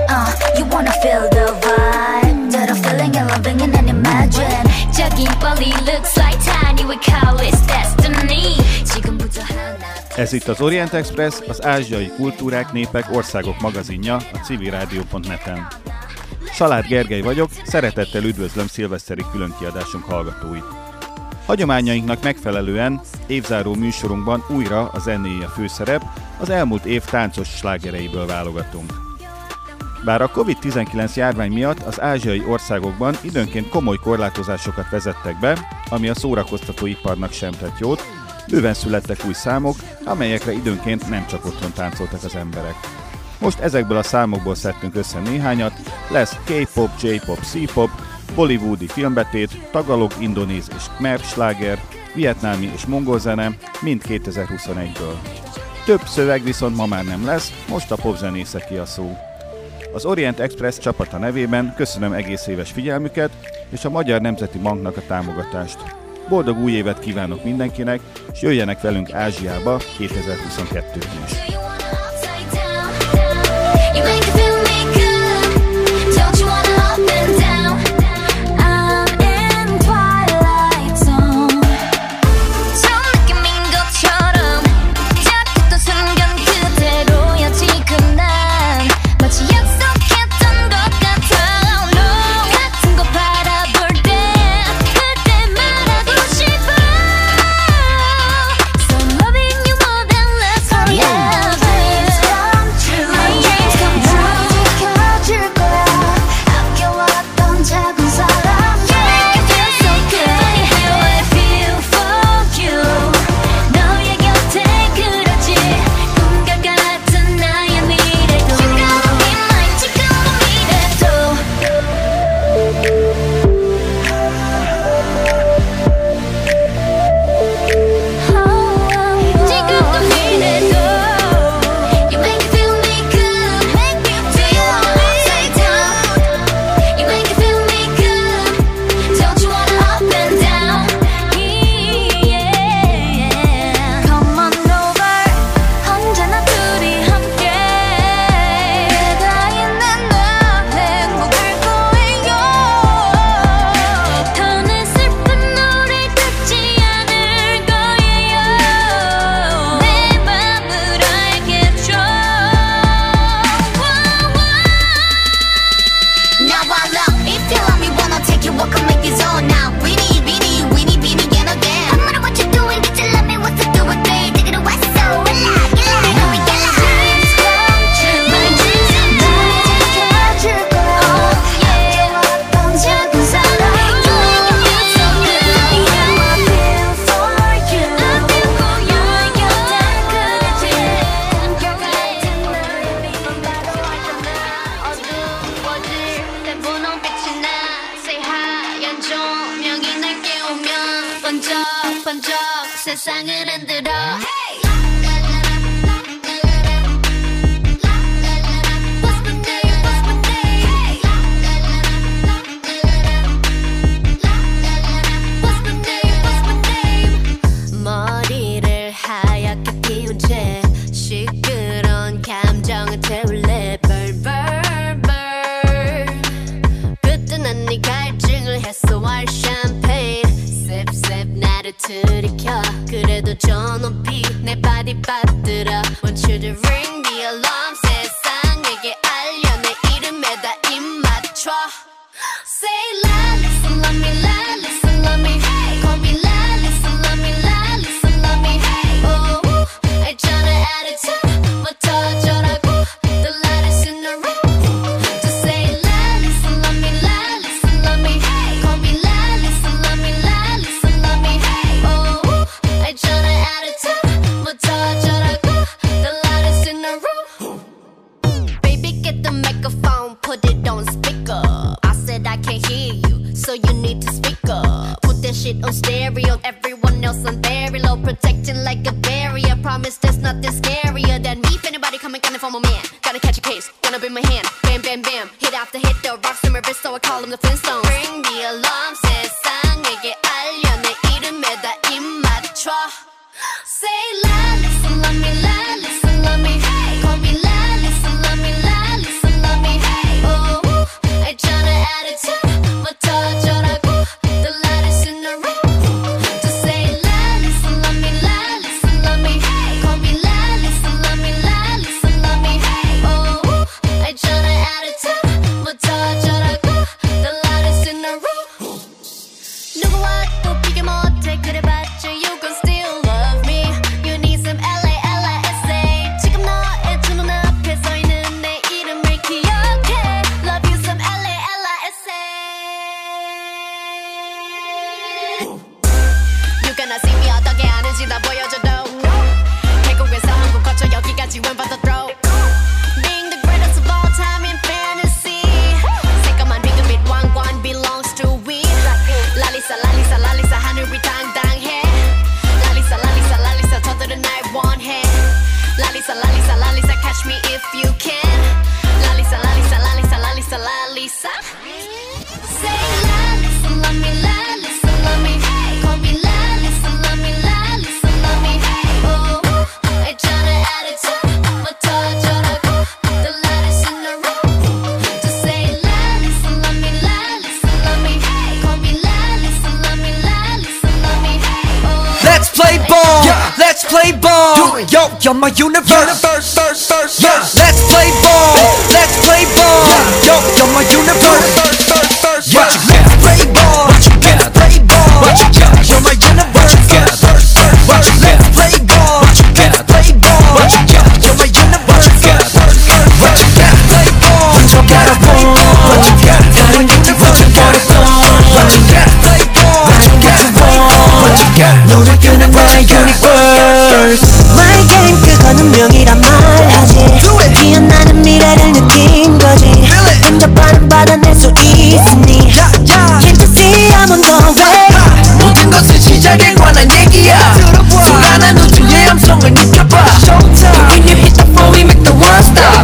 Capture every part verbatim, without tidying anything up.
uh, you wanna feel the vibe that I'm feeling and loving and then imagine 저기 빨리 looks like tiny we call it destiny 지금부터 하나 Ez itt az Orient Express, az ázsiai kultúrák, népek, országok magazinja a civil rádió pont net-en. Salád Gergely vagyok, szeretettel üdvözlöm szilveszteri különkiadásunk hallgatóit. Hagyományainknak megfelelően évzáró műsorunkban újra a zenéje a főszerep, az elmúlt év táncos slágereiből válogatunk. Bár a kovid tizenkilenc járvány miatt az ázsiai országokban időnként komoly korlátozásokat vezettek be, ami a szórakoztatóiparnak sem tett jót, bőven születtek új számok, amelyekre időnként nem csak otthon táncoltak az emberek. Most ezekből a számokból szedtünk össze néhányat, lesz K-pop, J-pop, C-pop, bollywoodi filmbetét, tagalog, indonéz és khmer sláger, vietnámi és mongol zene, mind kétezer-huszonegyből. Több szöveg viszont ma már nem lesz, most a popzenészeké a szó. Az Orient Express csapata nevében köszönöm egész éves figyelmüket és a Magyar Nemzeti Banknak a támogatást. Boldog új évet kívánok mindenkinek, és jöjjenek velünk Ázsiába kétezer-huszonkettőben is. Say la, listen, love me, la, listen, love me, hey. Call me la, listen, love me, la, listen, love me, hey. play ball. Yo, you're my universe. Yeah, let's play ball. Let's play ball. Yo, you're my universe. Yeah, let's play ball. Let's play ball. You're my universe. Let's play ball. Let's play ball. You're my universe. Let's play ball. 훔쳐가라 ball. 다른 곁을 훔쳐가라 ball. play ball. 훔쳐가라 ball. 너를 끄는 나의 universe. My game 그건 운명이란 말하지. 피어나는 미래를 느낀 거지. 혼자만은 받아낼 수 있으니. Can't you see I'm on the way. 모든 것은 시작에 관한 얘기야. 소란한 우주의 함성을 느껴봐. When you hit the floor we make the world stop.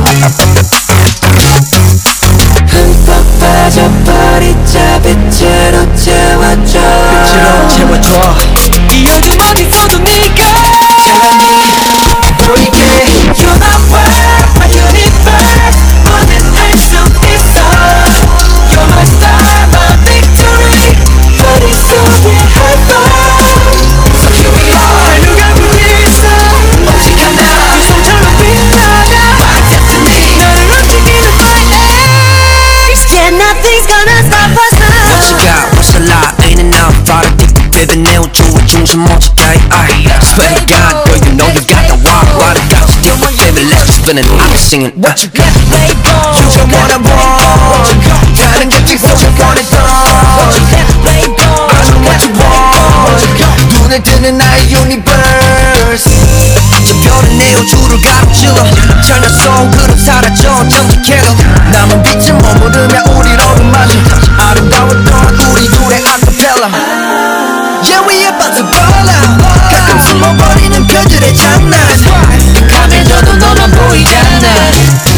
흠뻑 빠져버리자. 빛으로 채워줘. 빛으로 채워줘. 이 어둠 어디서도 네가 찬란히 보이게. You're my world, my universe. 뭐든 할 수 있어. You're my star, my victory. 머릿속에 high five. So here we are. 누가 보겠어. 오직 하나. 그 손처럼 빛나가. My destiny. 나를 움직이는 my ace. Yeah, nothing's gonna stop us now. What you got? What's a lot? In and out, thought I think baby 내 우주의 중심 멋지다. Swear to God, girl, you know you got the walk. What I got to do, baby, let's spin it. I'm singing. What you got? Play ball. You don't wanna ball. 다른 곁을 훔쳐보냈던. What you got? Play ball. I know what you want. 눈에 뜨는 나의 universe. 저 별은 내 우주를 가로질러. 전혀 속으로 사라져 전직해도 남은 빛을 머무르며 우리를 어루만져. 아름다웠던 우리 둘의 acapella. Yeah, we about to ball out. 가끔 숨어버리는 그들의 장난. 강해져도 너만 보이잖아.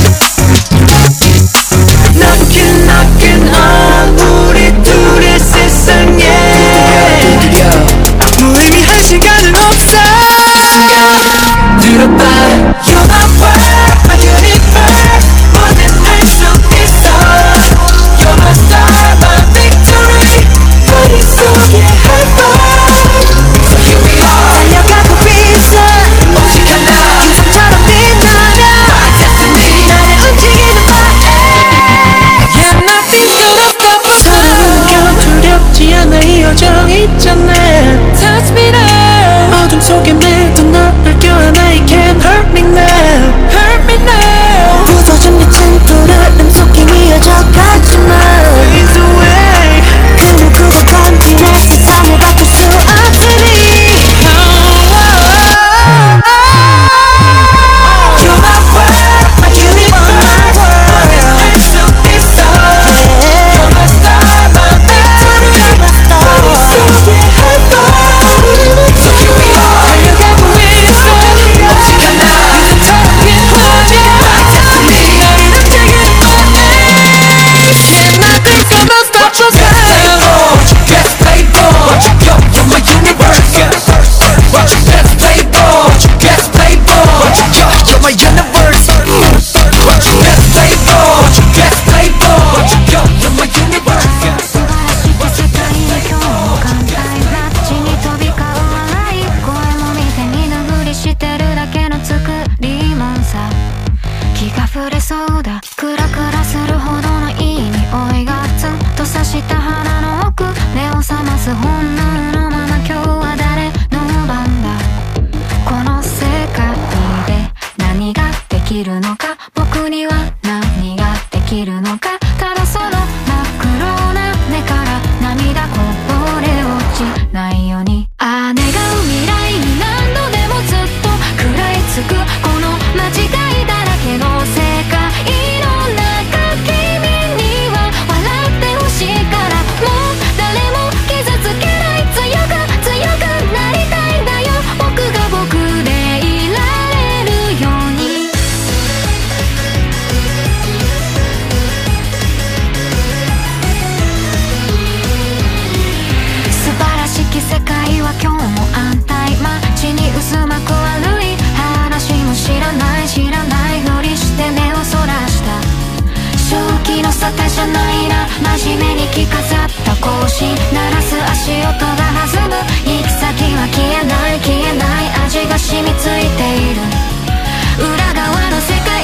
Knocking, knocking on 우리 둘의 세상에. 무의미한 시간은 없어. 들어봐. You're my world, my universe. 뭐든 할 수 있어. You're my star, my victory. 머릿속에 high five. So here we are. 달려가고 있어. 오직 하나. 기상처럼 빛나며. My destiny. 나를 움직이는 my ace. Yeah, nothing's gonna stop us now. 서로는 두렵지 않아 이 여정 있잖아. Touch me now. 어둠 속에 매도 너를 껴안아. You can't hurt me now. Hurt me now. 부서진 빛은 푸르름 속에 이어져 가지만 Please away. 그 누구도 건드릴 세상을 바꿀 수 없으니. You're my world, my universe. 뭐든 할 수 있어. You're my star, my victory. 머릿속에 high five. So here we are. 달려가고 있어. 오직 하나. 비슷한 빛나며. My destiny. 나를 움직이는 my ace. Yeah, nothing's gonna stop us now. Let's play ball. Yo, you're my universe. Let's play ball. Let's play ball. Yo, you're my universe. Let's play ball. Let's play ball. Yo, you're my universe. 世界へ今日も簡単な地に飛び交う笑い声も見て見ぬふりしてるだけの作りもんさ気が触れそうだクラクラするほどのいい匂いがツンと刺した鼻の奥目を覚ます本能のまま今日は誰の番だこの世界で何ができるのか僕には何ができるのかただその真っ黒な目から涙こぼれ落ちないようにああ願う未来に何度でもずっと食らいつくこの間違いだらけの世界の中君には笑ってほしいからもう誰も傷つけないの沙汰じゃないな、真面目に着飾った格子鳴らす足音が弾む、行き先は消えない消えない味が染みついている裏側の世界、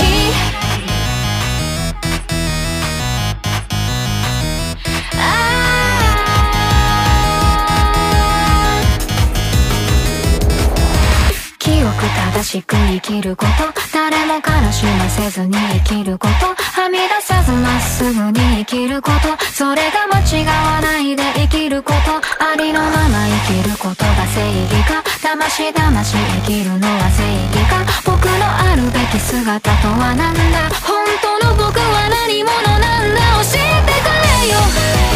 清く正しく生きること、誰も悲しませずに生きること、はみ出さずまっすぐに生きること、それが間違わないで生きること、ありのまま生きることが正義か、だましだまし生きるのは正義か、僕のあるべき姿とはなんだ、本当の僕は何者なんだ、教えてくれよ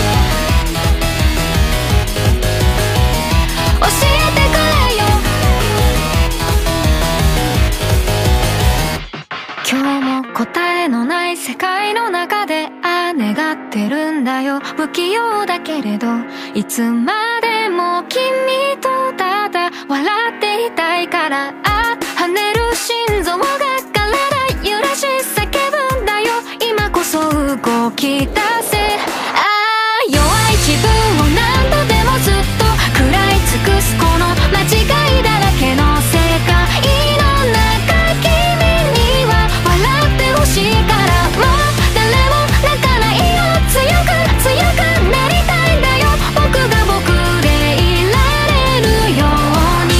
教えてくれよ、今日も答えのない世界の中でああ願ってるんだよ、不器用だけれどいつまでも君とただ笑っていたいから、あ跳ねる心臓が体揺らし叫ぶんだよ、今こそ動き出せ、ああ弱い自分を何度でもずっと食らい尽くすこの間違いだらけの世界の中、君には笑ってほしいから、もう誰も泣かないよ、強く強くなりたいんだよ、僕が僕でいられるように、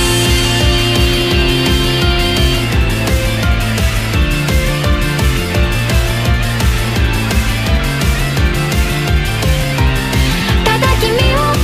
ただ君を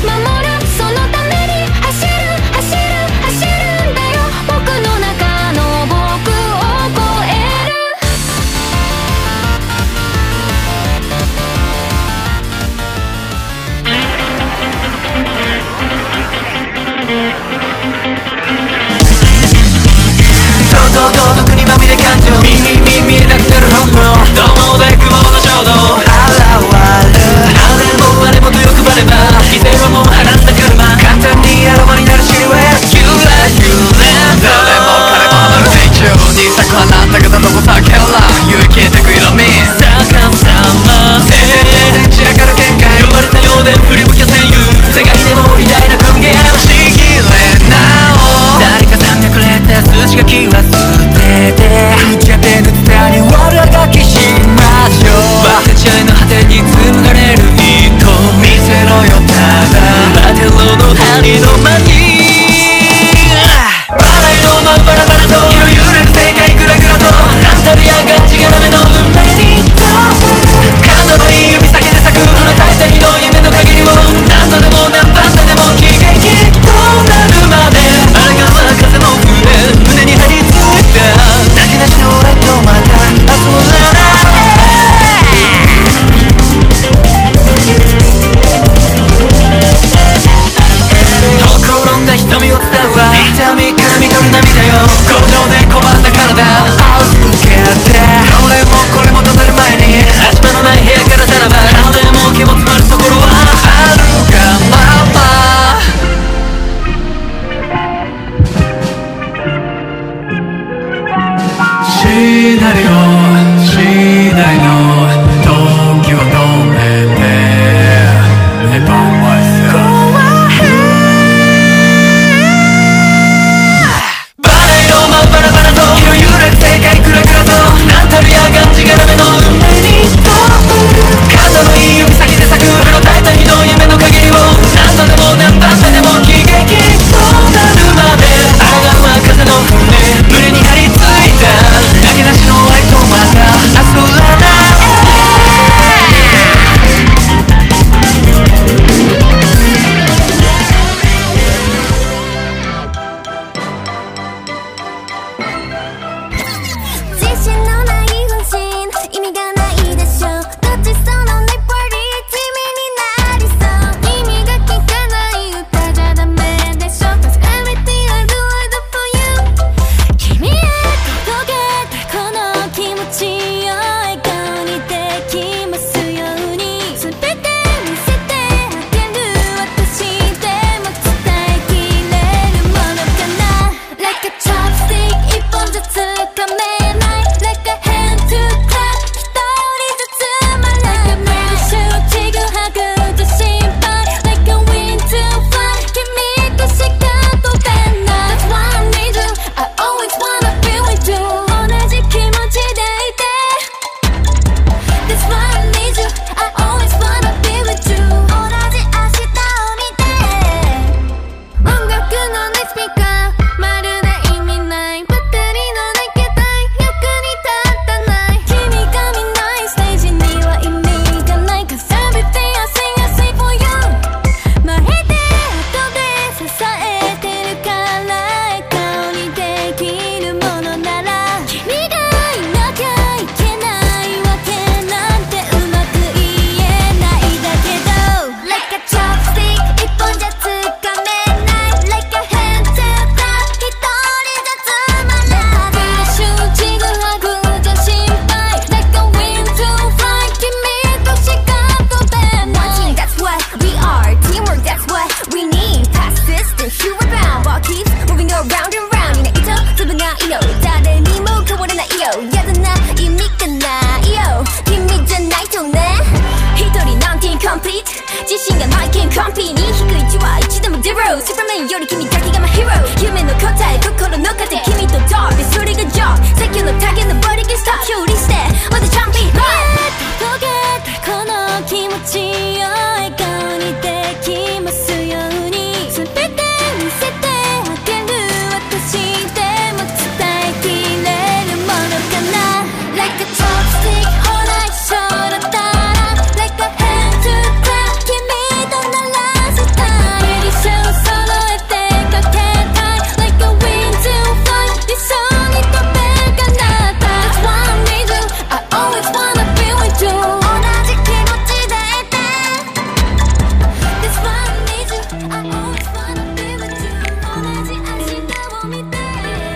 That's why I need you. I always wanna be with you. 同じ明日を見て音楽のネスピーカーまるで意味ないバッテリーのない携帯役に立たない君が見ないステージには意味がない Cause everything I sing I sing for you 前で後で支えてるから笑顔にできるものなら君がいなきゃいけないわけなんてうまく言えないだけど Like a chopstick 一本じゃつかめない Like a hand to the 一人じゃつまらないフラッシュちぐはぐじゃ心配 Like a wind to fly 君としか飛べない One team that's what we are Teamwork that's what we need Persistence you are bound Ball keeps moving around and round いないと粒がいよ誰にも変われないよやだな意味がないよ君じゃないとね一人なんて incomplete 自信がない can't compete に低いいちはいちでも zero スーパーメンより君だけが my hero 夢の答え心の糧君と talk でそれが job 最強のターゲット nobody can stop 勝利してまたチャンピオン届けたこの気持ちを笑顔にできますように全て見せてあげる私でも伝えきれるものかな Like a chopstick ほら一緒だったら Like a hand to clap 君と鳴らしたい Pretty show 揃えてかけたい Like a wind to fly 一緒に飛べるかな That's why I need you I always wanna be with you 同じ気持ちでいて That's why I need you I always wanna be with you 同じ明日を見て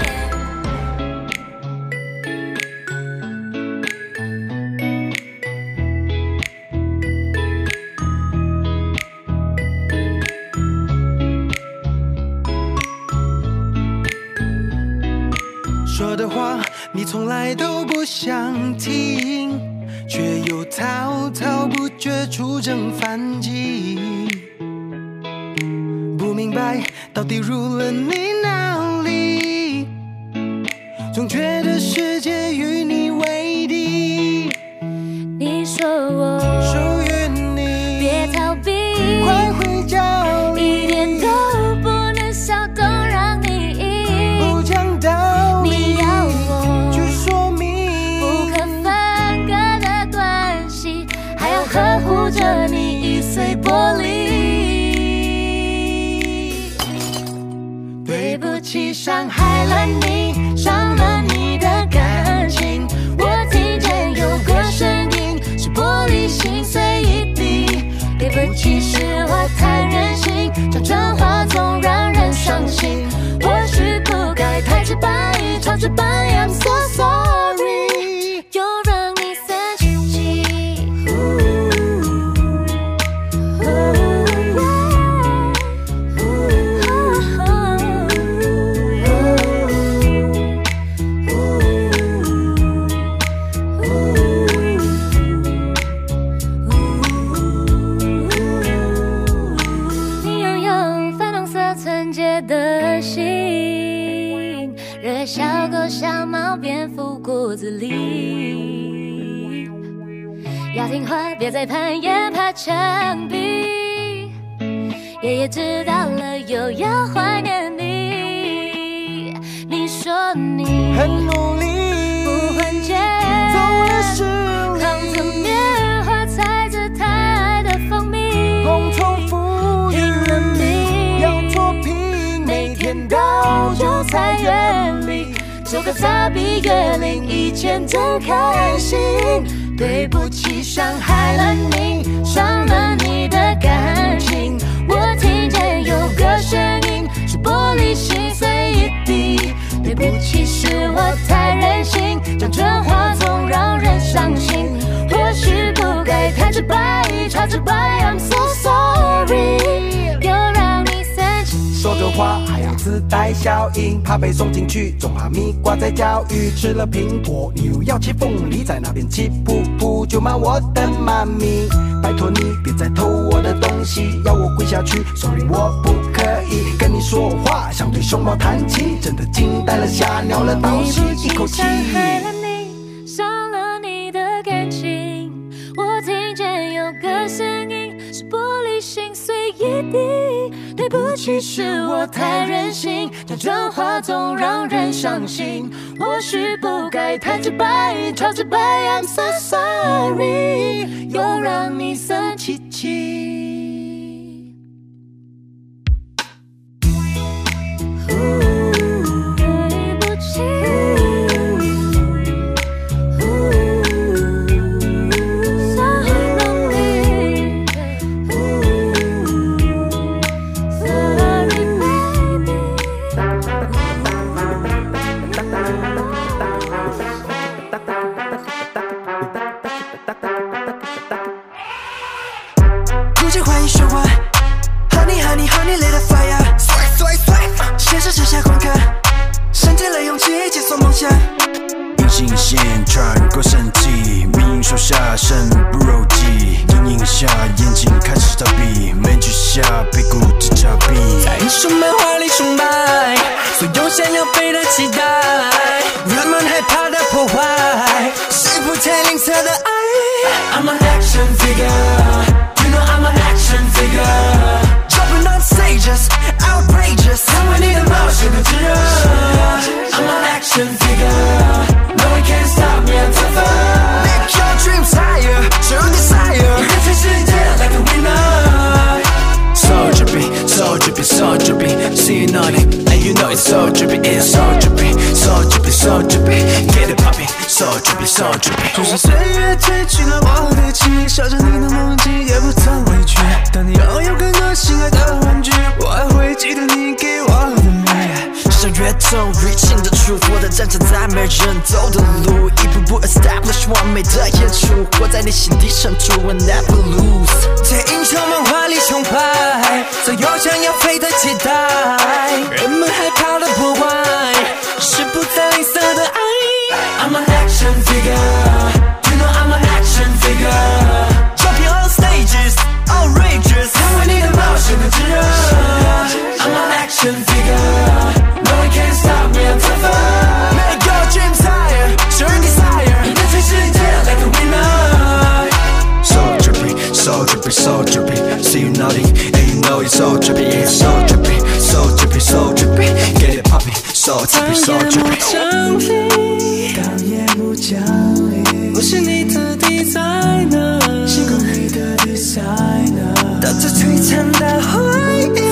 说的话你从来都不想听，却又滔滔不绝出征反击。不明白到底入了你哪里，总觉得世界与你为敌。 你说我属于你， 别逃避快回家里， 一点都不能小动让你赢不讲道理， 你要我去说明不可分割的关系，还要呵护着你易碎玻璃。 对不起，伤害了你，伤了你的感情。我听见有个声音，是玻璃心碎一地。对不起，是我太任性，讲真话总让人伤心。或许不该太直白，超直白 ，I'm so sorry， 又让你生气。你拥有粉红色纯洁的心，热小狗、小猫、蝙蝠、骨子里。要听话，别再攀岩爬墙壁。爷爷知道了，又要怀念你。你说你很努力， 不换肩， 走了十扛着里， 棉花，踩着他爱的蜂蜜， 共同富裕拼了命， 要脱贫，每天都有菜园里，收个杂比月领一千真开心。对不起，伤害了你，伤了你的感情。我听见有个声音，是玻璃心碎一地。对不起，是我太任性，讲真话总让人伤心。或许不该太直白，超直白 ，I'm so sorry， 又让你生气。 说着话还要自带效应，怕被送进去，总怕蜜瓜在教育。吃了苹果，你又要切凤梨，在那边气噗噗，就骂我的妈咪。拜托你别再偷我的东西，要我跪下去 ，sorry 我不可以跟你说话，像对熊猫弹琴，真的惊呆了，吓尿了，倒吸一口气。 伤害了你，伤了你的感情。 个声音是玻璃心碎一地。对不起，是我太任性，假装话总让人伤心。或许不该太直白，超直白 I'm so sorry， 又让你生气气。对不起。 现实之下观看，身体了勇气解锁梦想。隐形线穿过身体，命运手下身不肉己。阴影下眼睛开始逃避，面具下被固执遮蔽。在英雄漫画里崇拜，所有想要被的期待，人们害怕的破坏，是不太吝啬的爱。I'm an action figure, you know I'm an action figure. Jumping on stages, outrageous， 成为你的冒险的炙热。I'm an action figure, no one can stop me, I'm tougher. Make your dreams higher, show desire， 你的全世界 like a winner。So drippy, so drippy, so drippy, see you nodding, and you know it's so drippy, it's so drippy, so drippy, so drippy, get it popping, so drippy, so drippy。就是岁月褪去了我的情，守着你的梦境也不曾委屈。当你拥有更多心爱的玩具，我还会记得你给我的美。像越痛越近的truth，我的战场在没人走的路，一步步 establish 完美的演出，活在你心底深处 and never lose。在英雄漫画里崇拜，所有想要飞的期待，人们害怕的破坏，是不再吝啬的爱。I'm an action figure, you know I'm an action figure. Jumping on stages, outrageous， 成为你的冒险的炙热。I'm an action figure, no one can stop me, I'm tougher. Make your dreams higher, show your desire， 你的全世界 like a winner。So drippy, so drippy, so drippy, see you nodding, and you know it's so drippy, it's so drippy, so drippy, so drippy, get it popping, so drippy, so drippy。当夜幕降临，我是你的 designer， 星空里的 designer， 带着璀璨的回忆，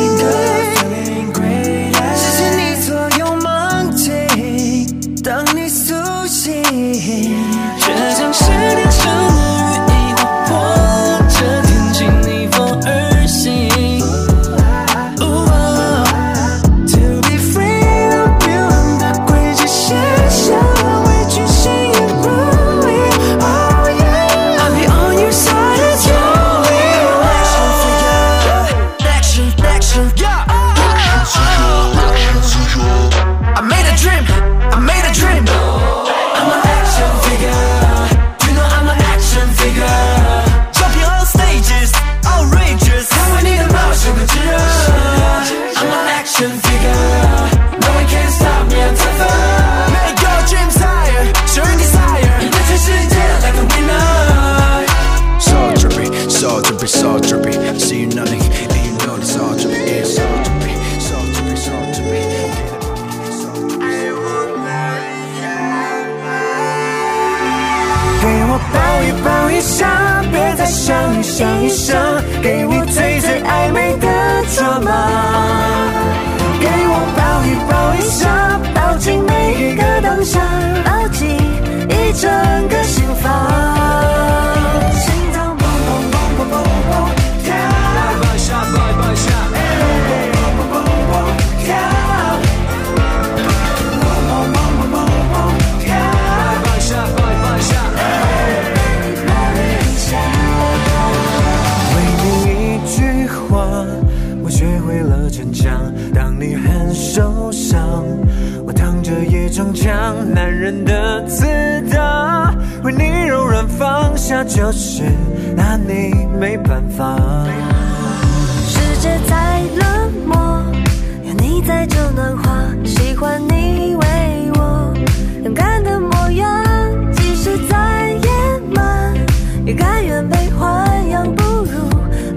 实现你所有梦境。当你苏醒，却像是天生的羽翼，划破这天际逆风而行。To be free of you 的轨迹写下。So drippy, see you nothing, and you know it's all drippy, it's so drippy, so drippy, so drippy, get it popping, so drippy。给我抱一抱一下，别再想一想一想，给你最最暧昧的抓马。给我抱一抱一下，抱紧每一个当下，牢记一整个心房。当你很受伤，我躺着也中枪，男人的自大，为你柔软放下，就是拿你没办法。 世界再冷漠，有你在就暖化，喜欢你为我勇敢的模样，即使再野蛮，也甘愿被欢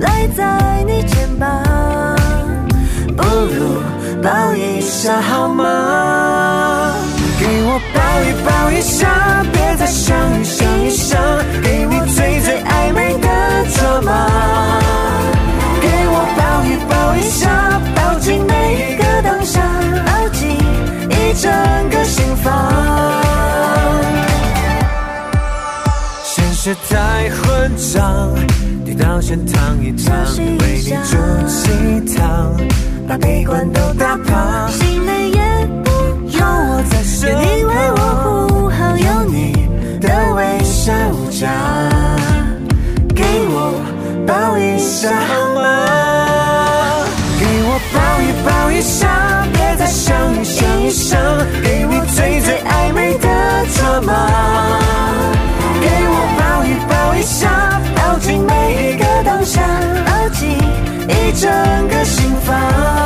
赖在你肩膀，不如抱一下好吗？给我抱一抱一下，别再想一想一想，给你最最暧昧的抓马。给我抱一抱一下，抱紧每一个当下，牢记一整个心房。现实太混账，跌倒先躺一躺，为你煮鸡汤，把悲观都打趴，心累也不有我在身旁，别以为我不好，有你的微笑无价。给我抱一下好吗？给我抱一抱一下，别再想一想一想，给你最最暧昧的抓马。给我抱一抱一下，抱紧每一个当下，牢记一整个心房。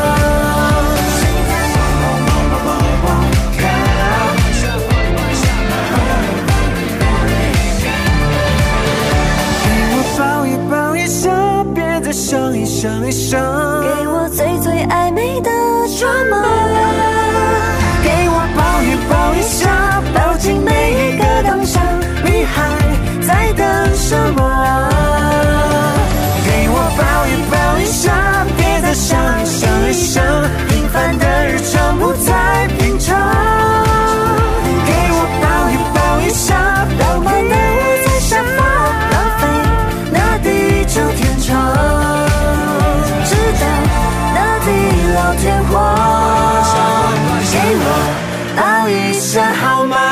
想一想一想，给我最最暧昧的抓马。给我抱一抱一下，抱紧每一个当下，你还在等什么啊？给我抱一抱一下，别再想一想一想，平凡的日常不再平常。给我抱一抱一下，浪漫的我在下方，浪费那地久天长。老天荒，给我抱一下好吗？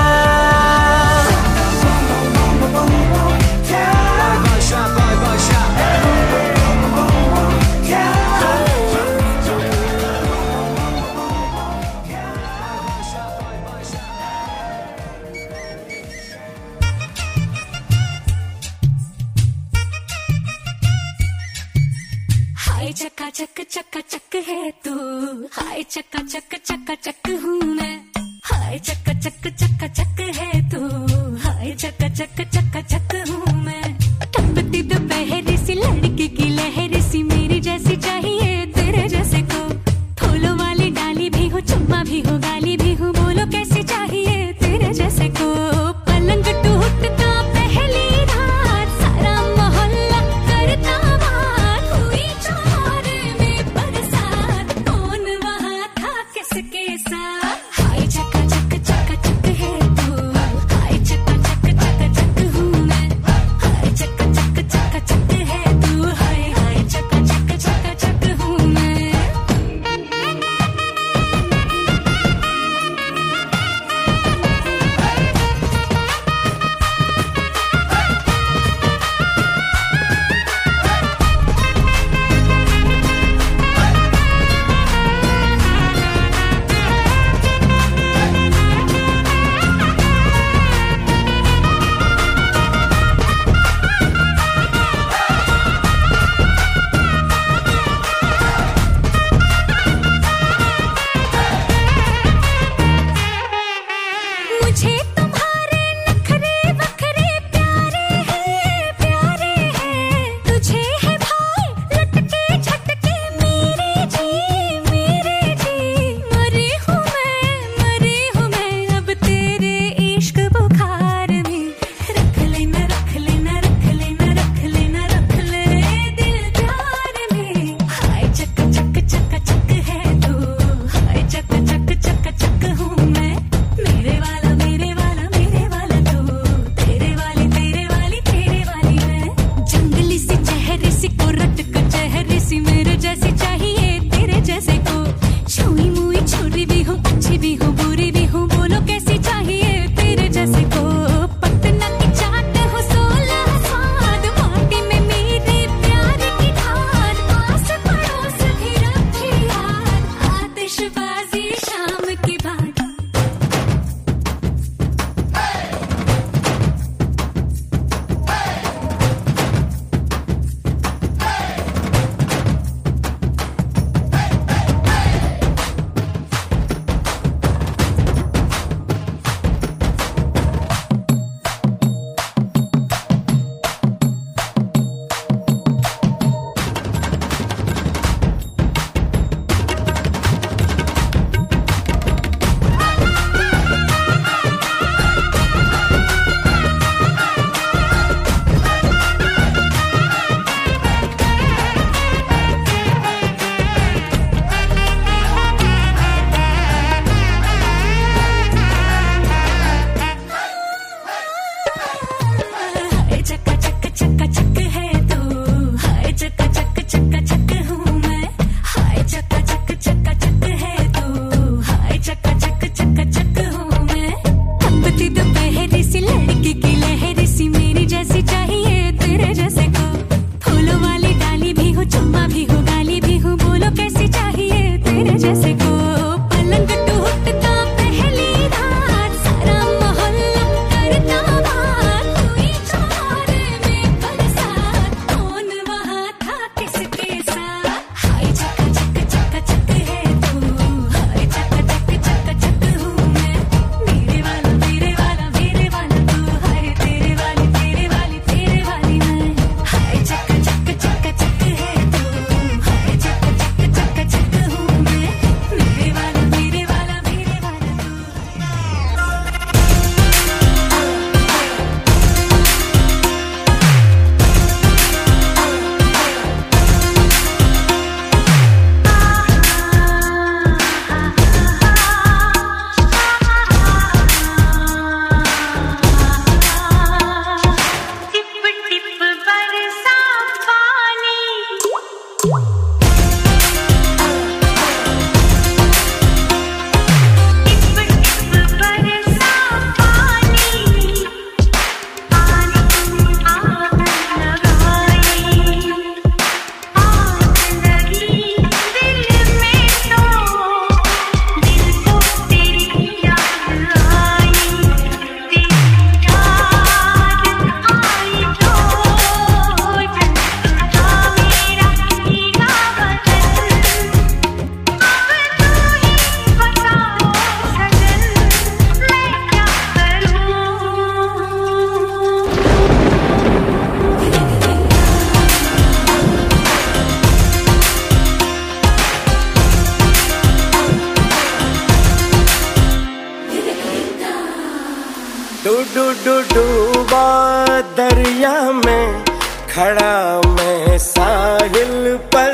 हाय चका चक चका चक है तू, हाय चका चक चका चक हूँ मैं, हाय चका चक चका चक है तू, हाय चका चक चका चक हूँ मैं। टपकती दोपहर सी लड़की की लहर सी, मेरी जैसी चाहिए तेरे जैसे को, फूलों वाली डाली भी हो, चुम्मा भी हो, गाली भी हो, बोलो कैसी चाहिए तेरे जैसे को। पलंग टूटता पहली रात, सारा मोहल्ला करता बात, हुई चौरे में बरसात, कौन वहाँ था किसके साथ। हाय चका चक चका चक है तू, हाय चका चक चका चक हूँ मैं, हाय में खड़ा मैं साहिल पर,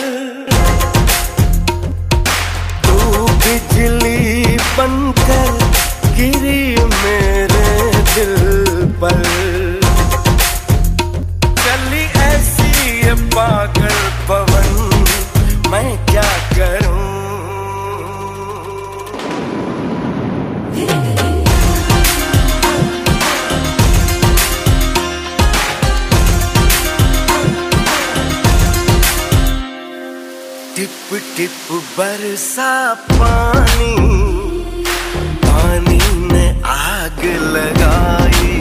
तू बिजली बनकर गिरी मेरे दिल पर। चली ऐसी ये पागल पवन, मैं क्या करूं। टिप टिप बरसा पानी, पानी ने आग लगाई,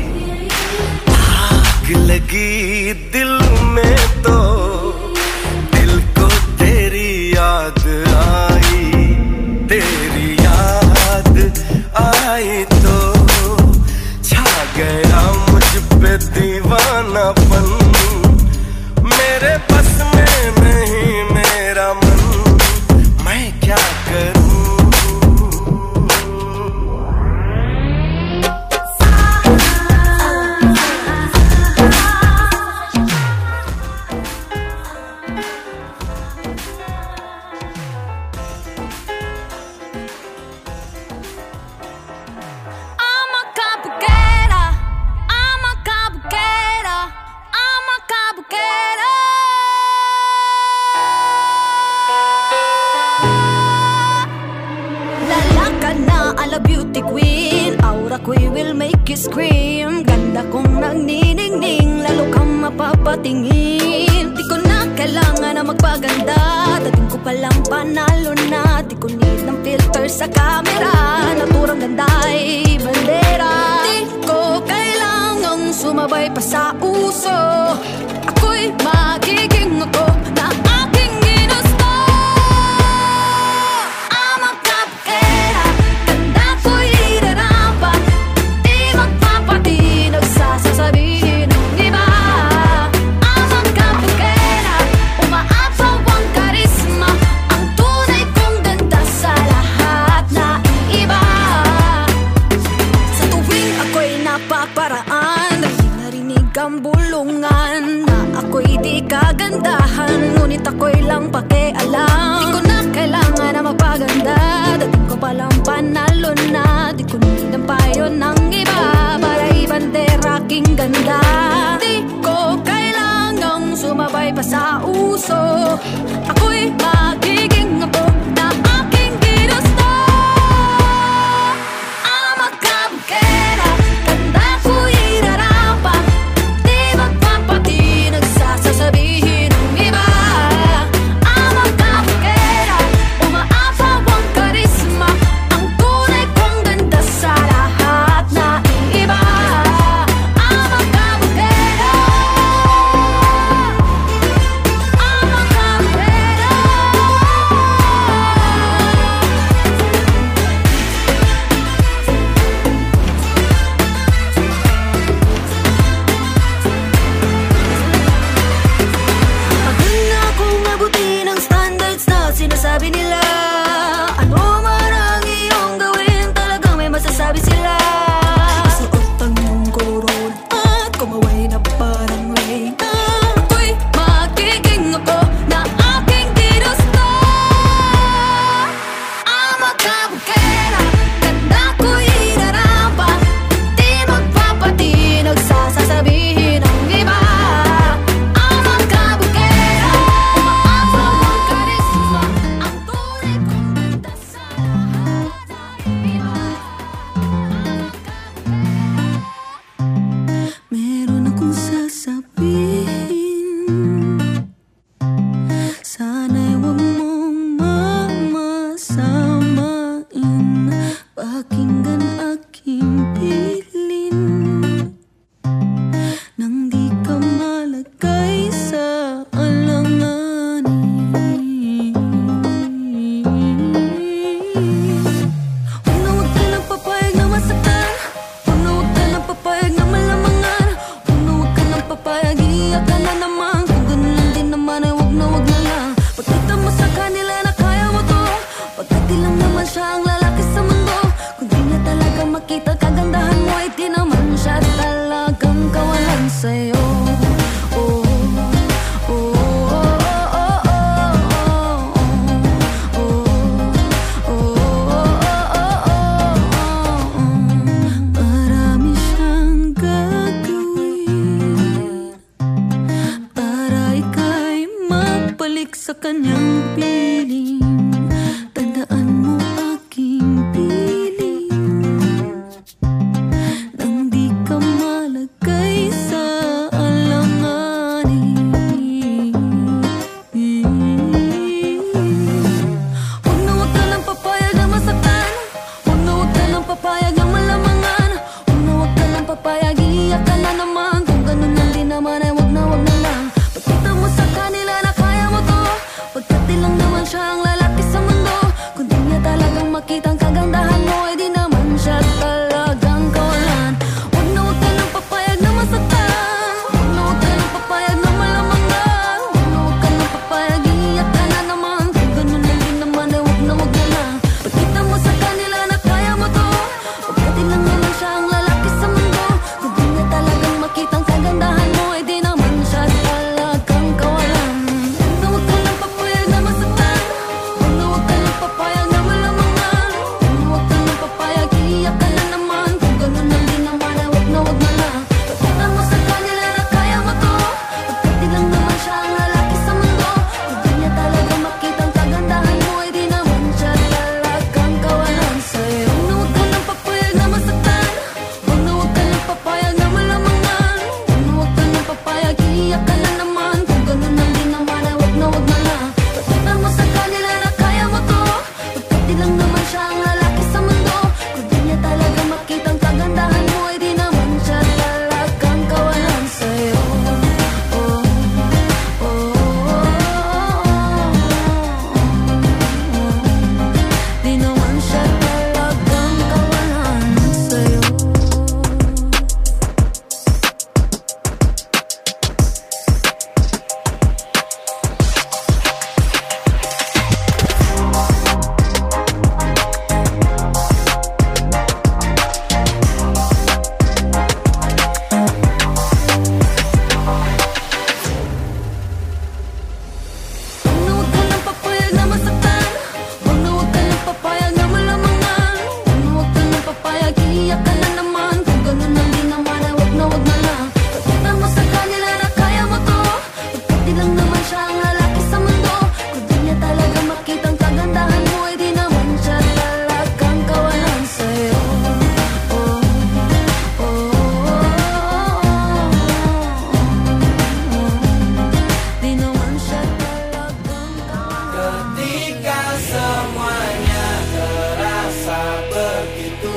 आग लगी दिल में तो दिल को तेरी याद आई, तेरी याद आई तो छा गया मुझ पे दीवानापन। मेरे बस में नहीं मेरा मन, मैं क्या करूं। Scream, ganda kong nagniningning, lalo kang mapapatingin. Di ko na kailangan na magpaganda, dating ko palang panalo na. Di ko need ng filter sa camera, naturang ganda'y bandera. Di ko kailangang sumabay pa sa uso, ako'y magiging ako na aking ginusto. I'm a cupcake, ganda ko'y irarapat, sasabihin ng iba. Ang magkapagkera, umaapaw ang karisma, ang tunay kong ganda sa lahat na iiba. Sa tuwing ako'y napaparaan, narinig ang bulungan na ako'y di kagandahan, ngunit ako'y lang pakialam. Di ko na kailangan na magpaganda, dating ko palang panalo na. Di ko need ang payo ng iba para ibandera aking ganda. Di ko kailangang sumabay pa sa uso, ako'y magiging ako na aking ginusto. Ang magkabukera, ganda ko'y irarapat, di magpapatinag sa sasabihin ng iba. Ang magkabukera, umaapaw ang karisma, ang tunay kong ganda sa lahat na iba. I'm a sa kanyang piling. Tandaan mo aking piling, nang di ka malagay sa alanganin. Huwag na huwag ka lang papayag na masaktan, huwag na huwag ka lang papayag na malamangan, huwag na huwag ka lang papayag iiyak ka na naman. Kung ganun lang din naman ay huwag na huwag na lang. Pagkita mo sa kanila na kaya mo to, pagkat di lang naman siya ang lalaki sa mundo. Kung di niya talagang makitang kagandahan mo, ay di naman siya talagang kawalan. Huwag na huwag ka lang papayag na masaktan, huwag na huwag ka lang papayag na malamangan, huwag na huwag ka lang papayag iiyak ka na naman. Kung ganun lang din naman ay huwag na huwag na lang. Pagkita mo sa kanila na kaya mo to, pagkat di lang naman siya ang lalaki sa mundo. Kung di niya talagang makitang kagandahan mo, ay di naman siya talagang kawalan. Huwag na huwag ka lang papayag na masaktan, huwag na huwag ka lang papayag na malamangan, huwag na huwag ka lang papayag iiyak ka na naman. Kung ganun lang din naman ay huwag na huwag na lang. Pagkita mo sa kanila na kaya mo to, pagkat di lang naman siya ang lalaki sa mundo. Kung di niya talagang makitang kagandahan mo, ay di naman siya talagang kawalan sa'yo. Huwag na huwag ka lang papayag na masaktan, huwag na huwag ka lang papayag na malamangan, huwag na huwag ka lang papayag iiyak ka na naman. Kung ganun lang din naman ay huwag na huwag na lang. Pagkita mo sa kanila na kaya mo to, pagkat di lang naman siya ang lalaki sa mundo. Kung di niya talaga makitang kagandahan mo, ay di naman siya talagang kawalan sa'yo. Oh, oh, oh, di naman siya talagang kawalan sa'yo. Huwag na huwag ka lang papayag na masaktan, huwag na huwag ka lang papayag na malamangan, huwag na huwag ka lang papayag iiyak ka na naman. Kung ganun lang din naman ay huwag na huwag na lang. Pagkita mo sa kanila na kaya mo to, pagkat di lang naman siya ang lalaki sa mundo. Kung di niya talaga makitang kagandahan mo, ay di naman siya talagang kawalan sa'yo. Oh, oh, di naman siya talagang kawalan. Ketika semuanya terasa begitu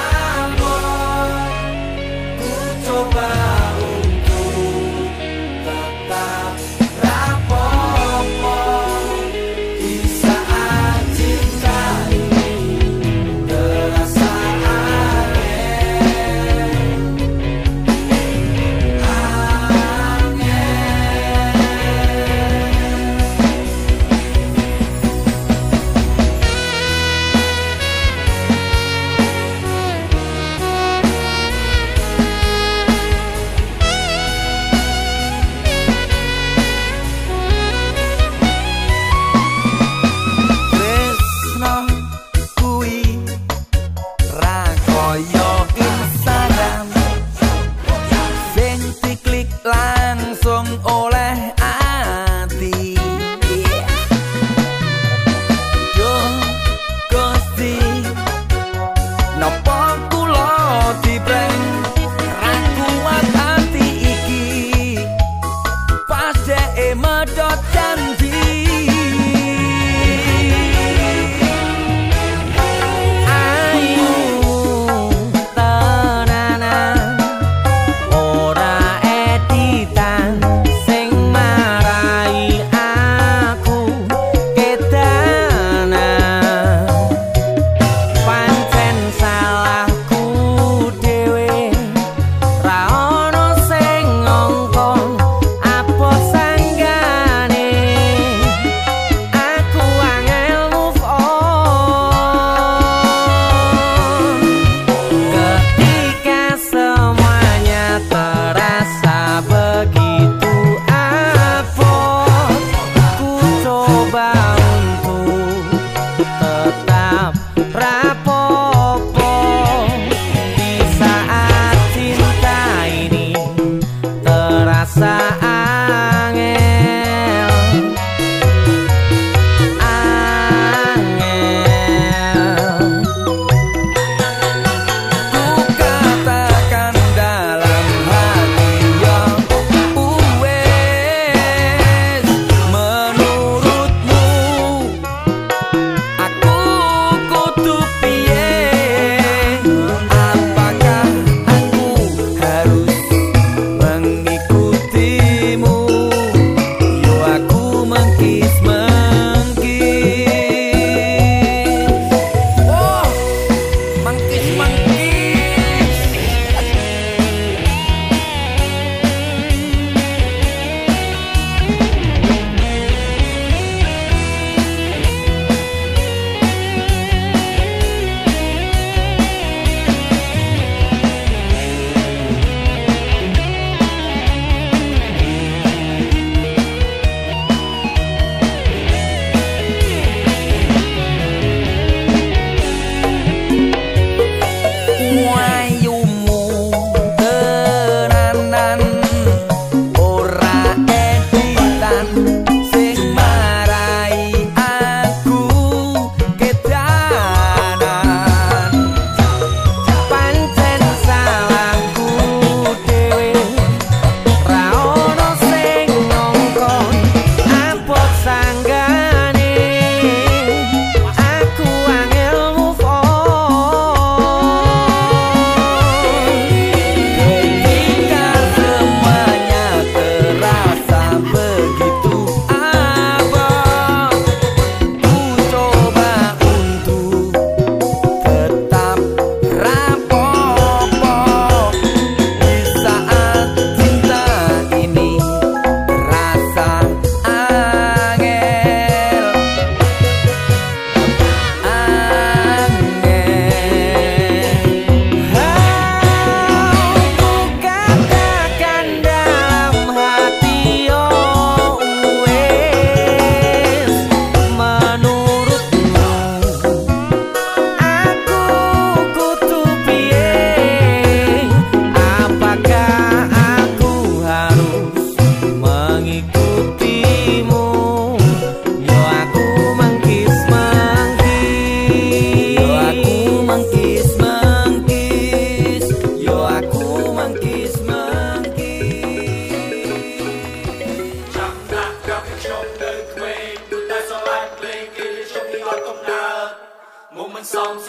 abot, ku coba untuk tetap rapopo. Di saat cinta ini terasa Tresno kui ra koyo Instagram, sing diklik langsung oleh ati. Yo Gusti, napa kula diprank ra kuat ati iki, pas dhek medhot janji. Ayu tenanan, ora editan sing marai aku kedanan. Pancen salahku dhewe, ra ono sing ngongkon apa sanggane. Aku angel move on. Ketika semuanya terasa begitu abot, ku coba untuk tetap rapopo. Di saat cinta ini terasa angel,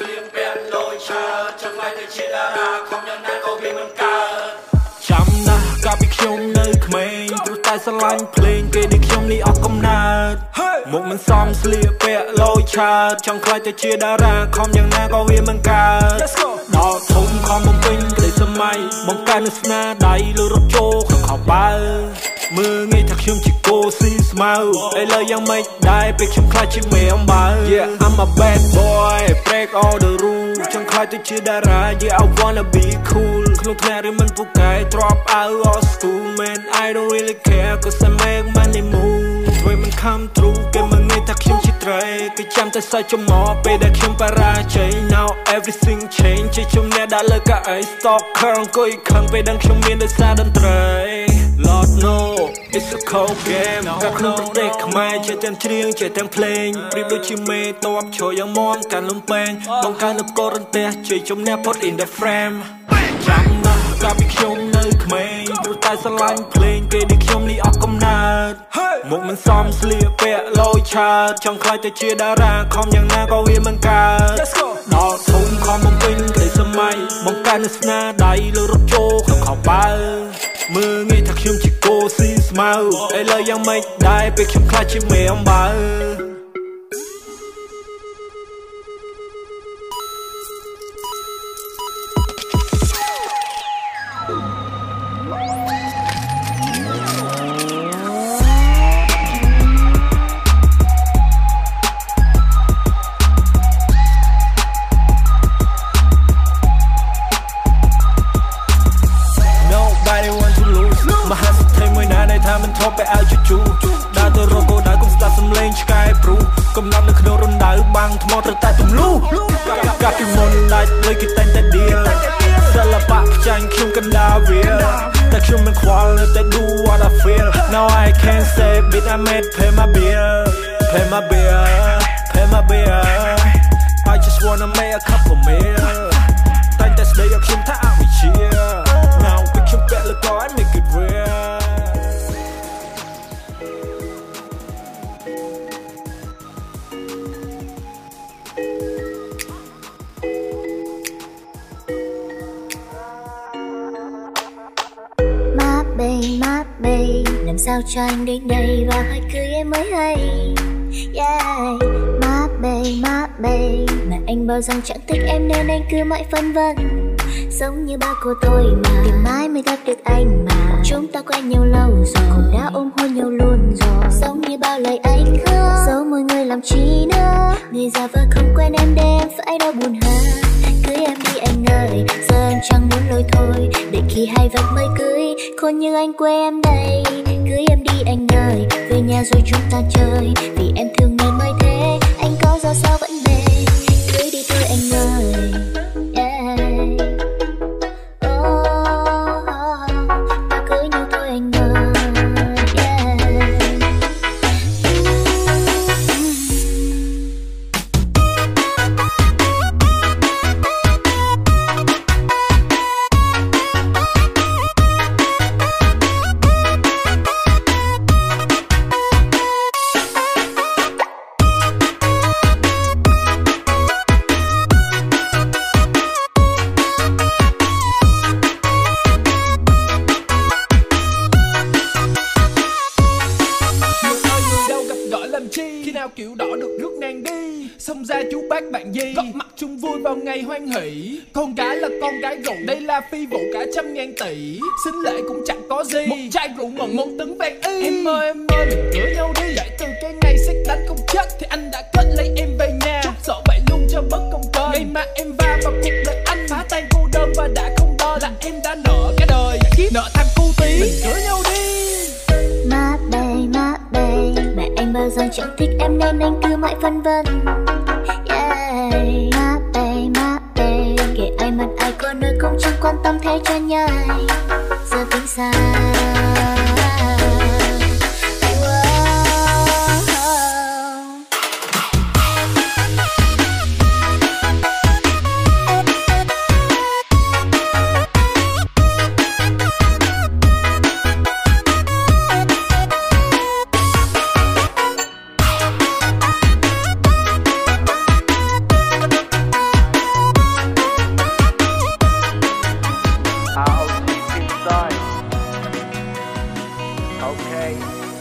ស្លៀកពាក់លយឆើចង់ឲ្យតែជាតារាខំយ៉ាងណាក៏វាមិនកើតចាំណាស់កាលពីខ្ញុំនៅក្មេងព្រោះតែស្រឡាញ់ភ្លេងគេនេះខ្ញុំនេះអស់កំណើតមកមិនសមស្លៀកពាក់លយឆើចង់ខ្លាចតែជាតារាខំយ៉ាងណាក៏វាមិនកើតដល់ធំខំបំពេញក្តីសម័យបង្កើននូវស្នាដៃលើរថជោក្នុងខោបើមើងងាយថាខ្ញុំជាគោស៊ីស្មៅឥឡូវយ៉ាងម៉េចដែរពេលខ្ញុំខ្លាចជាមេអំបៅ Yeah I'm a bad boy break all the rules ចង់ខ្លាចទៅជាតារា Yeah I wanna be cool ក្នុងថ្នាក់រៀនមិនពូកែ drop out of school man I don't really care cause I make money move ពេលមិន come through គេមើងងាយថាខ្ញុំជាត្រីគេចាំតែសើចចំមកពេលដែលខ្ញុំបរាជ័យ Now everything change ជាជំនះដាក់លើកៅអី stalker អង្គុយខឹងពេលដឹងខ្ញុំមានដោយសារតន្ត្រី Lord no it's a cold game កាលក្នុងប្រទេសខ្មែរជាទាំងច្រៀងជាទាំងភ្លេងប្រៀបដូចជាមេតបជួយយ៉ាងមមកាន់លំពេងបង្កើននូវកូររន្ទះជួយជំនះ put in the frame ចាំណាស់កាលពីខ្ញុំនៅក្មេងព្រោះតែស្រឡាញ់ភ្លេងគេនេះខ្ញុំនេះអស់កំណើតមកមិនសមស្លៀកពាក់លយឆើចង់ខ្លាចតែជាតារាខំយ៉ាងណាក៏វាមិនកើតដល់ធំខំបំពេញក្តីសម័យបង្កើននូវស្នាដៃលើរថជោក្នុងខោបើមើងងាយថាខ្ញុំជាគោស៊ីស្មៅឥឡូវយ៉ាងម៉េចដែរពេលខ្ញុំខ្លាចជាមេអំបៅ កំណត់នៅក្នុងរណ្ដៅបាំងថ្មត្រូវតែទម្លុះកាពីមុនដាច់លើគេតែងតែឌីលសិល្បៈផ្ចាញ់ខ្ញុំកណ្ដាលវាតែខ្ញុំមិនខ្វល់នៅតែ do what I feel now I can't say bit I made pay my bill pay my bill pay my bill I just wanna make a couple meal តែងតែស្ដីឲ្យខ្ញុំថាអវិជ្ជា now ពេលខ្ញុំពាក់លើក I make it real Má bê, làm sao cho anh đến đây và hỏi cưới em mới hay yeah. Má bê, má bê, mà anh bảo rằng chẳng thích em nên anh cứ mãi phân vân giống như ba cô tôi mà tìm mãi mới gặp được anh mà chúng ta quen nhau lâu rồi cũng đã ôm hôn nhau luôn rồi giống như bao lời anh hứa dẫu mọi người làm chi nữa người già vợ không quen em để em phải đau buồn hơn cưới em đi anh ơi giờ em chẳng muốn lôi thôi để khi hai vật mới cưới khôn như anh quê em đây cưới em đi anh ơi về nhà rồi chúng ta chơi vì em thương nên mới thế anh có ra sao vẫn về cưới đi thôi anh ơi yeah. Oh, ta cưới nhau thôi anh ơi yeah. Kiểu đỏ được rước nàng đi xông ra chú bác bạn gì góp mặt chung vui vào ngày hoan hỷ con gái là con gái rượu đây là phi vụ cả trăm ngàn tỷ xính lễ cũng chẳng có gì một chai rượu mừng một tấn vàng y em ơi em ơi mình cưới nhau đi dậy từ cái ngày xét đánh không chết thì anh đã kết lấy em về nhà chút sợ vậy luôn cho bất công cơ ngày mà em va vào cuộc đời anh phá tan cô đơn và đã không đo là em đã nợ cả đời kiếp nợ thằng cu tí mình cưới nhau đi má bê má bê mẹ anh bao giờ chẳng thích em nên anh cứ mãi phân vân yeah. Má bê má bê kể ai mặt ai có nơi cũng chẳng quan tâm thế cho nhai giờ tính sao Okay.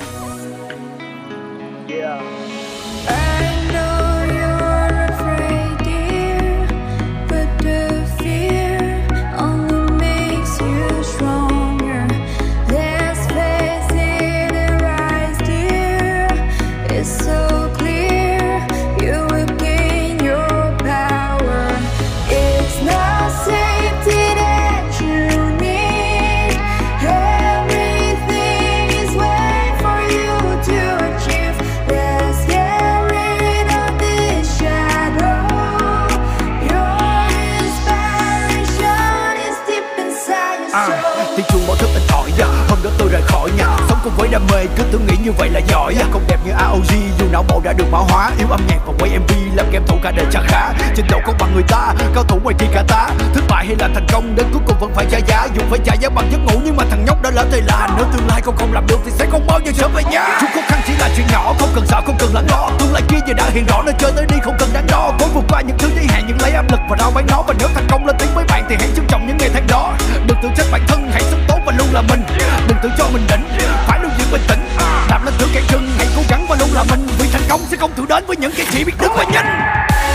Yeah. I know you're afraid, dear, but the fear only makes you stronger. There's faith in your eyes, dear. It's so clear you will gain your power. It's not safety that you need. Everything is waiting for you to achieve. Let's get rid of this shadow. Your inspiration is deep inside your À, soul. tiếng chuông báo thức in ỏi yeah. Hôm đó tôi rời khỏi nhà, sống cùng với đam mê, cứ tưởng nghĩ như vậy là giỏi yeah. Không đẹp như a o giê, dù não bộ đã được mã hóa. Yêu âm nhạc và quay em vê, làm game thủ cả đời chẳng khá. Trình độ không bằng người ta, cao thủ ngoài kia cả tá. Thất bại hay là thành công, đến cuối cùng vẫn phải trả giá. Dù phải trả giá bằng giấc ngủ, nhưng mà thằng nhóc đã lỡ thời là. Nếu tương lai con không làm được thì sẽ không bao giờ trở về nhà. Chút khó khăn chỉ là chuyện nhỏ, không cần sợ, không cần lắng lo. Tương lai kia giờ đã hiện rõ, nên chơi tới đi không cần đáng lo. Cố vượt qua những thứ giới hạn, nhưng lấy áp lực và rao bán nó. Và nếu thành công lên tiếng với bạn thì hãy trân trọng những ngày tháng đó. Đừng tự trách bản thân, hãy sống tốt và luôn là mình. Đừng tự cho mình đỉnh, phải luôn giữ bình tĩnh. Đạp lên thử cản chân, hãy cố gắng và luôn là mình. Vì thành công sẽ không tự đến với những kẻ chỉ biết đứng và nhanh.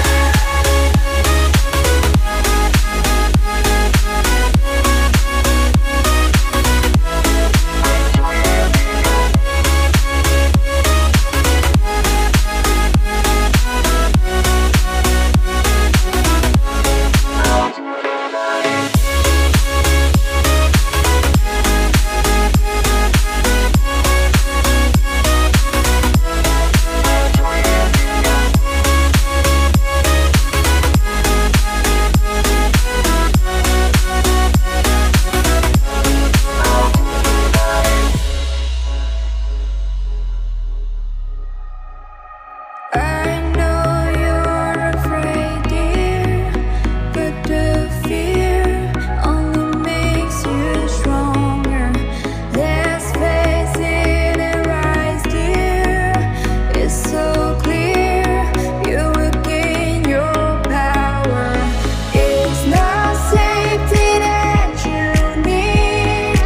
I know you're afraid, dear, but the fear only makes you stronger. There's faith in your eyes, dear. It's so clear you will gain your power. It's not safety that you need.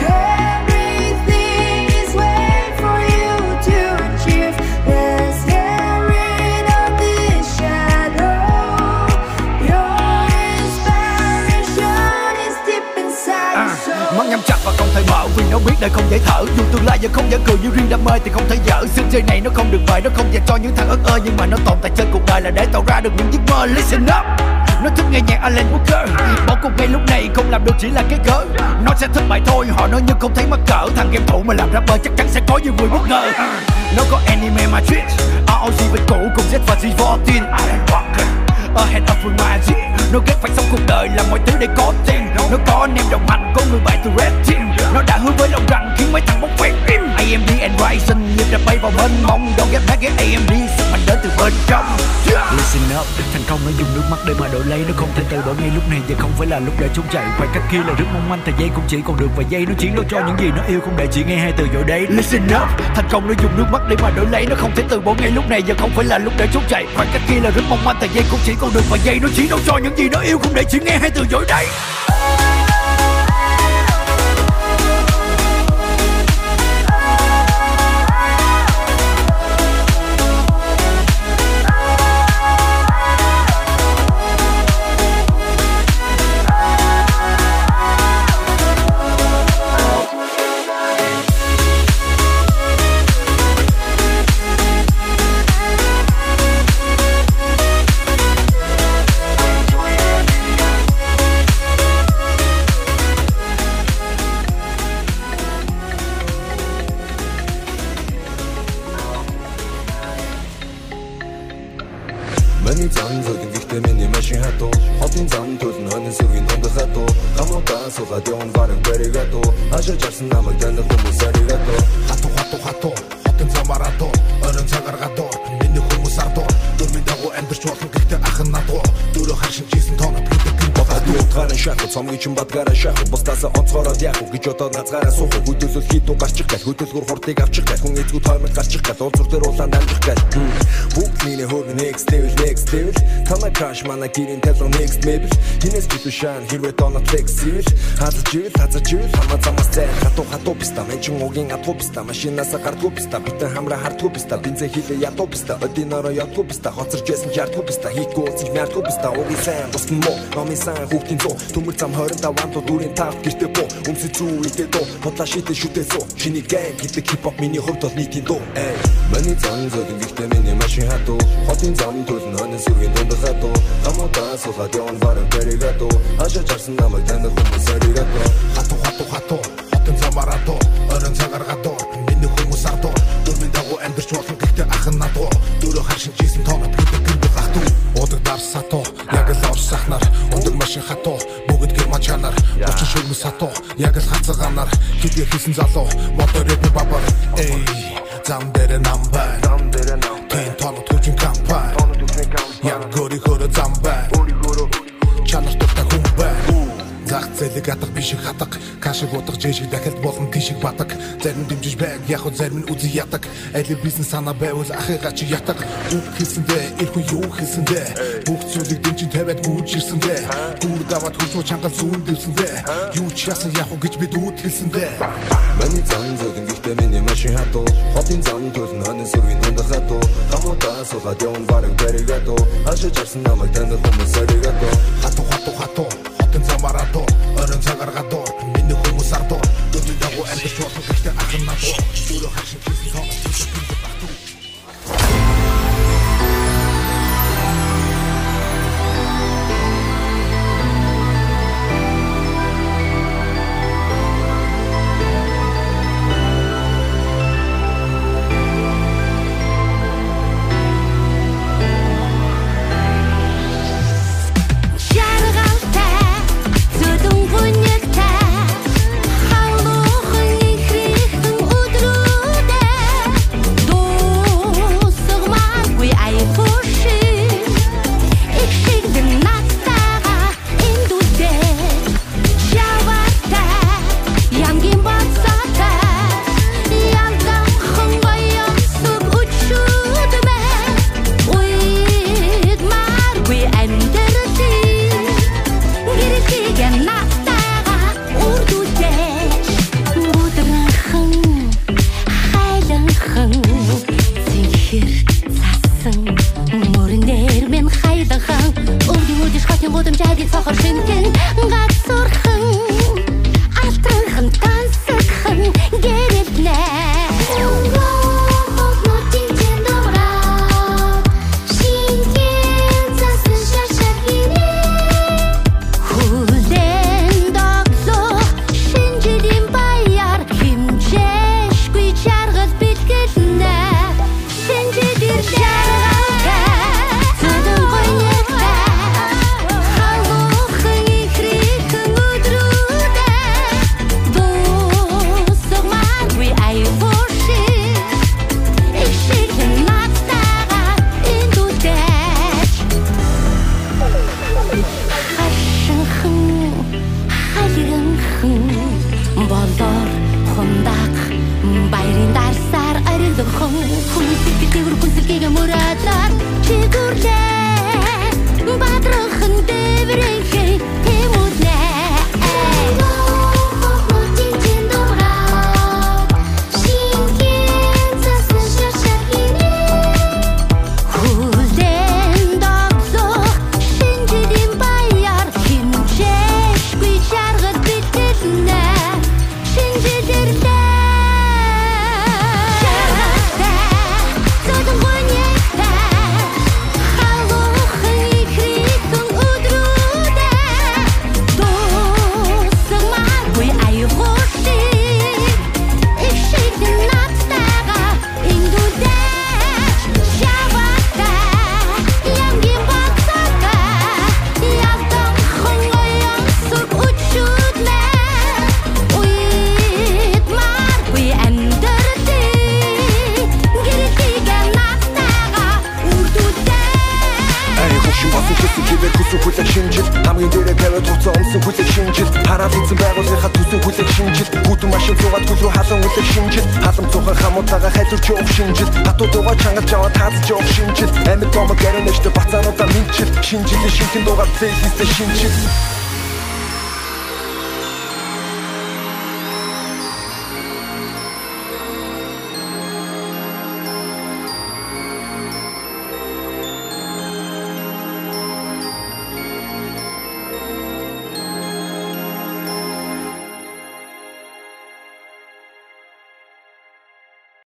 Everything is waiting for you to achieve. Let's get rid of this shadow. Your inspiration is deep inside À, your soul. mắt nhắm chặt và không thể mở vì nó biết đời không dễ thở. Dù tương lai giờ không dễ cười như riêng đam mê thì không thể dở. Sân chơi này nó không được vời, nó không dành cho những thằng ớt ơ, nhưng mà nó tồn tại trên cuộc đời là để tạo ra được những giấc mơ. Listen up, nó thích nghe nhạc Alan Walker. Bỏ cuộc ngay lúc này không làm được chỉ là cái cớ. Nó sẽ thất bại thôi, họ nói nhưng không thấy mắc cỡ. Thằng game thủ mà làm rapper chắc chắn sẽ có nhiều người bất ngờ. Nó có Anime Madrid, a o giê bên cũ cùng Z và G fourteen. Alan Walker ahead of my magic. Nó ghét phải sống cuộc đời làm mọi thứ để có tiền. Nó có anh em đồng hành, có người bạn từ Red Team. Nó đã hứa với lòng rằng khiến mấy thằng bóng phét im. a em đê and Ryzen nhịp đập bay vào bên mông. Don't get back at a em đê, sức mạnh đến từ bên trong. Listen up, thành công nó dùng nước mắt để mà đổi lấy. Nó không thể từ bỏ ngay lúc này, giờ không phải là lúc để trốn chạy. Khoảng cách kia là rất mong manh, thời gian cũng chỉ còn được vài giây. Nó chiến đấu cho những gì nó yêu, không để chỉ nghe hai từ dội đấy. Listen up, thành công nó dùng nước mắt để mà đổi lấy. Nó không thể từ bỏ ngay lúc này, giờ không phải là lúc để trốn chạy. Khoảng cách kia là rất mong manh, thời gian cũng chỉ còn được vài giây. Nó chiến đấu cho những gì nó yêu, không để chỉ nghe hai từ dội đấy. Миний зам зөвхөн гэхдээ миний машин хатуу хотын зам төлн хонин сүргийн дундах хатуу хамаатан суулаад явна баран баригатуу хашаа жарсан намайг таньдаг хүмүүс аригатуу хатуу хатуу хатуу хотын замаар хатуу орон цагаар хатуу миний хүмүүс ардуу дөрмийн дагуу амьдарч болно гэхдээ ах нь надуу дөрөв хашин жисэн тоног плитик бодоод утгаараа шахах цомгийн чин бадгаараа шахах бусдаас онцгороод яах гэж одоо назгаараа суух хөдөлсөс хитүү гарчих гал хөдөлгөр хурдыг авчих гал хүн эзгүү тоймог гарчих гал уулзур дээр улаан амжих гал бүгд миний хөргөн next level next level танай crash манай гэрийн талуу next level хинээс битушаан хэрвээ донот flexible хазаж ил хазаж ил хамаа замаас зай хатуу хатуу писта мен чин угийн атуу писта машинаас гардгүй писта битэн хамра хардгүй писта бензин хилээ ядуу писта одинороо ядгүй писта хоцорч байсан жардгүй писта хийхгүй уулзах мярдгүй писта угийн сайн босгон мо номын сайн хүүхдийн зөө төмөр зам тwenty five тоо дүүрийн тав гэртээ боо өмсөж зүү идэ доо бодлоо шитэ шүтээ суу чиний гейм гэдэг хипхоп миний хувьд бол нийтийн дуу эй миний зам зөгийн гихтээ миний машин хатуу хотын зам төлн хонь сүргийн дунд хатуу хамуудаа суулаад явна баран бэрэгатуу хашаа чарсан намайг танах хүмүүс сэрэгатуу хатуу хатуу хатуу хотын замаратуу орон цагаргатуу миний хүмүүс ардуу дөрмийн дагуу амьдарч болно гэхдээ ахын надуу дөрөв харшин жисэн тоонод гэдэг гиндэг хатуу удаг дарсатуу яг л орсахнаар ундаг машин хатуу бүгд гэр мачанаар бочин шүмс хатуу яг л хацаганаар хэдий хийсэн залуу мотор рэп бабар эй зам дээр намбай зам дээр намбай тэн тоонод хүчин кампай яг гори хөрө замбай чанар тутаа хүмбай зах зээлэг атах биш их хатаг кашиг утах жишг дахилт болон тишиг батаг зарим дэмжиж байг яг хөө зарим нь үзий ятаг айли бизнес санаа байвал ахыгаа чи ятаг үг хэлсэндээ ил хүн юу хэлсэндээ бүх зүйлийг дэмжин тавиад гүйжирсэндээ гүр даваад хурцуу чангал зүүн дэвсэндээ юу ч яасан яг гэж бид үүд хэлсэндээ миний зам зөгийн гихтээ миний машин хатуу хотын зам төлн хонь сүргийн дунд хатуу хамуудаа суулаад явна бараг бэрэгатуу хашаа чарсан намайг танах хүмүүс сэрэгатуу хатуу хатуу хатуу хотын замаратуу орон цагаргатуу миний хүмүүс ардуу дөрмийн дагуу амьдарч болно гэхдээ ахын надуу дөрөв харшин хийсэн тоонод гиндэг хатуу How байгуулгынхаа төсөө хүлээх шинжил гүтэн машин цугаад гүл рүү халан үлэх шинжил халам цухан хамуудаага хайдурч явах шинжил хатуудуугаа чангаж аваад таазж явах шинжил амьд бомог гэрэнэштэй бацаануудаа минчил шинжилээ шинхэн дуугаар плейлистэ шинжил